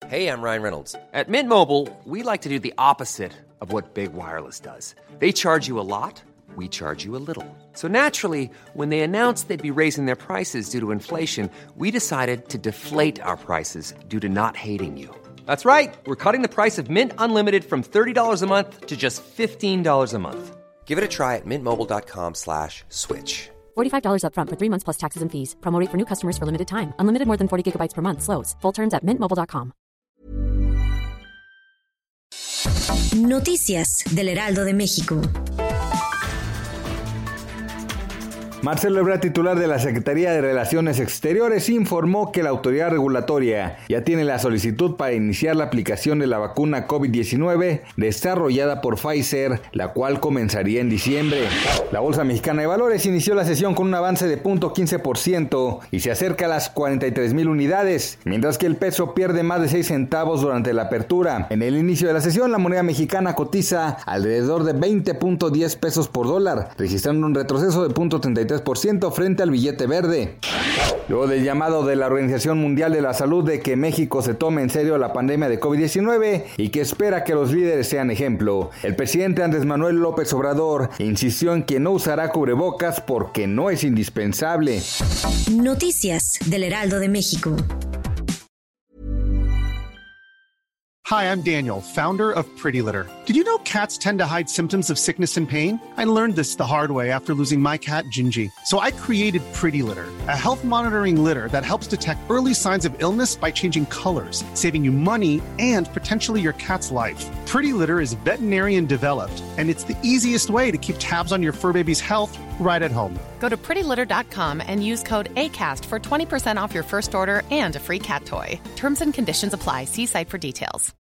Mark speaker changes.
Speaker 1: Hey, I'm Ryan Reynolds. At Mint Mobile, we like to do the opposite of what Big Wireless does. They charge you a lot, we charge you a little. So naturally, when they announced they'd be raising their prices due to inflation, we decided to deflate our prices due to not hating you. That's right. We're cutting the price of Mint Unlimited from $30 a month to just $15 a month. Give it a try at mintmobile.com/switch.
Speaker 2: $45 up front for 3 months plus taxes and fees. Promo rate for new customers for limited time. Unlimited more than 40 gigabytes per month. Slows full terms at mintmobile.com.
Speaker 3: Noticias del Heraldo de México.
Speaker 4: Marcelo Ebrard, titular de la Secretaría de Relaciones Exteriores, informó que la autoridad regulatoria ya tiene la solicitud para iniciar la aplicación de la vacuna COVID-19 desarrollada por Pfizer, la cual comenzaría en diciembre. La Bolsa Mexicana de Valores inició la sesión con un avance de 0.15% y se acerca a las 43,000 unidades, mientras que el peso pierde más de 6 centavos durante la apertura. En el inicio de la sesión, la moneda mexicana cotiza alrededor de 20.10 pesos por dólar, registrando un retroceso de 0.33% frente al billete verde. Luego del llamado de la Organización Mundial de la Salud de que México se tome en serio la pandemia de COVID-19 y que espera que los líderes sean ejemplo, el presidente Andrés Manuel López Obrador insistió en que no usará cubrebocas porque no es indispensable.
Speaker 3: Noticias del Heraldo de México.
Speaker 5: Hi, I'm Daniel, founder of Pretty Litter. Did you know cats tend to hide symptoms of sickness and pain? I learned this the hard way after losing my cat, Gingy. So I created Pretty Litter, a health monitoring litter that helps detect early signs of illness by changing colors, saving you money and potentially your cat's life. Pretty Litter is veterinarian developed, and it's the easiest way to keep tabs on your fur baby's health right at home.
Speaker 6: Go to prettylitter.com and use code ACAST for 20% off your first order and a free cat toy. Terms and conditions apply. See site for details.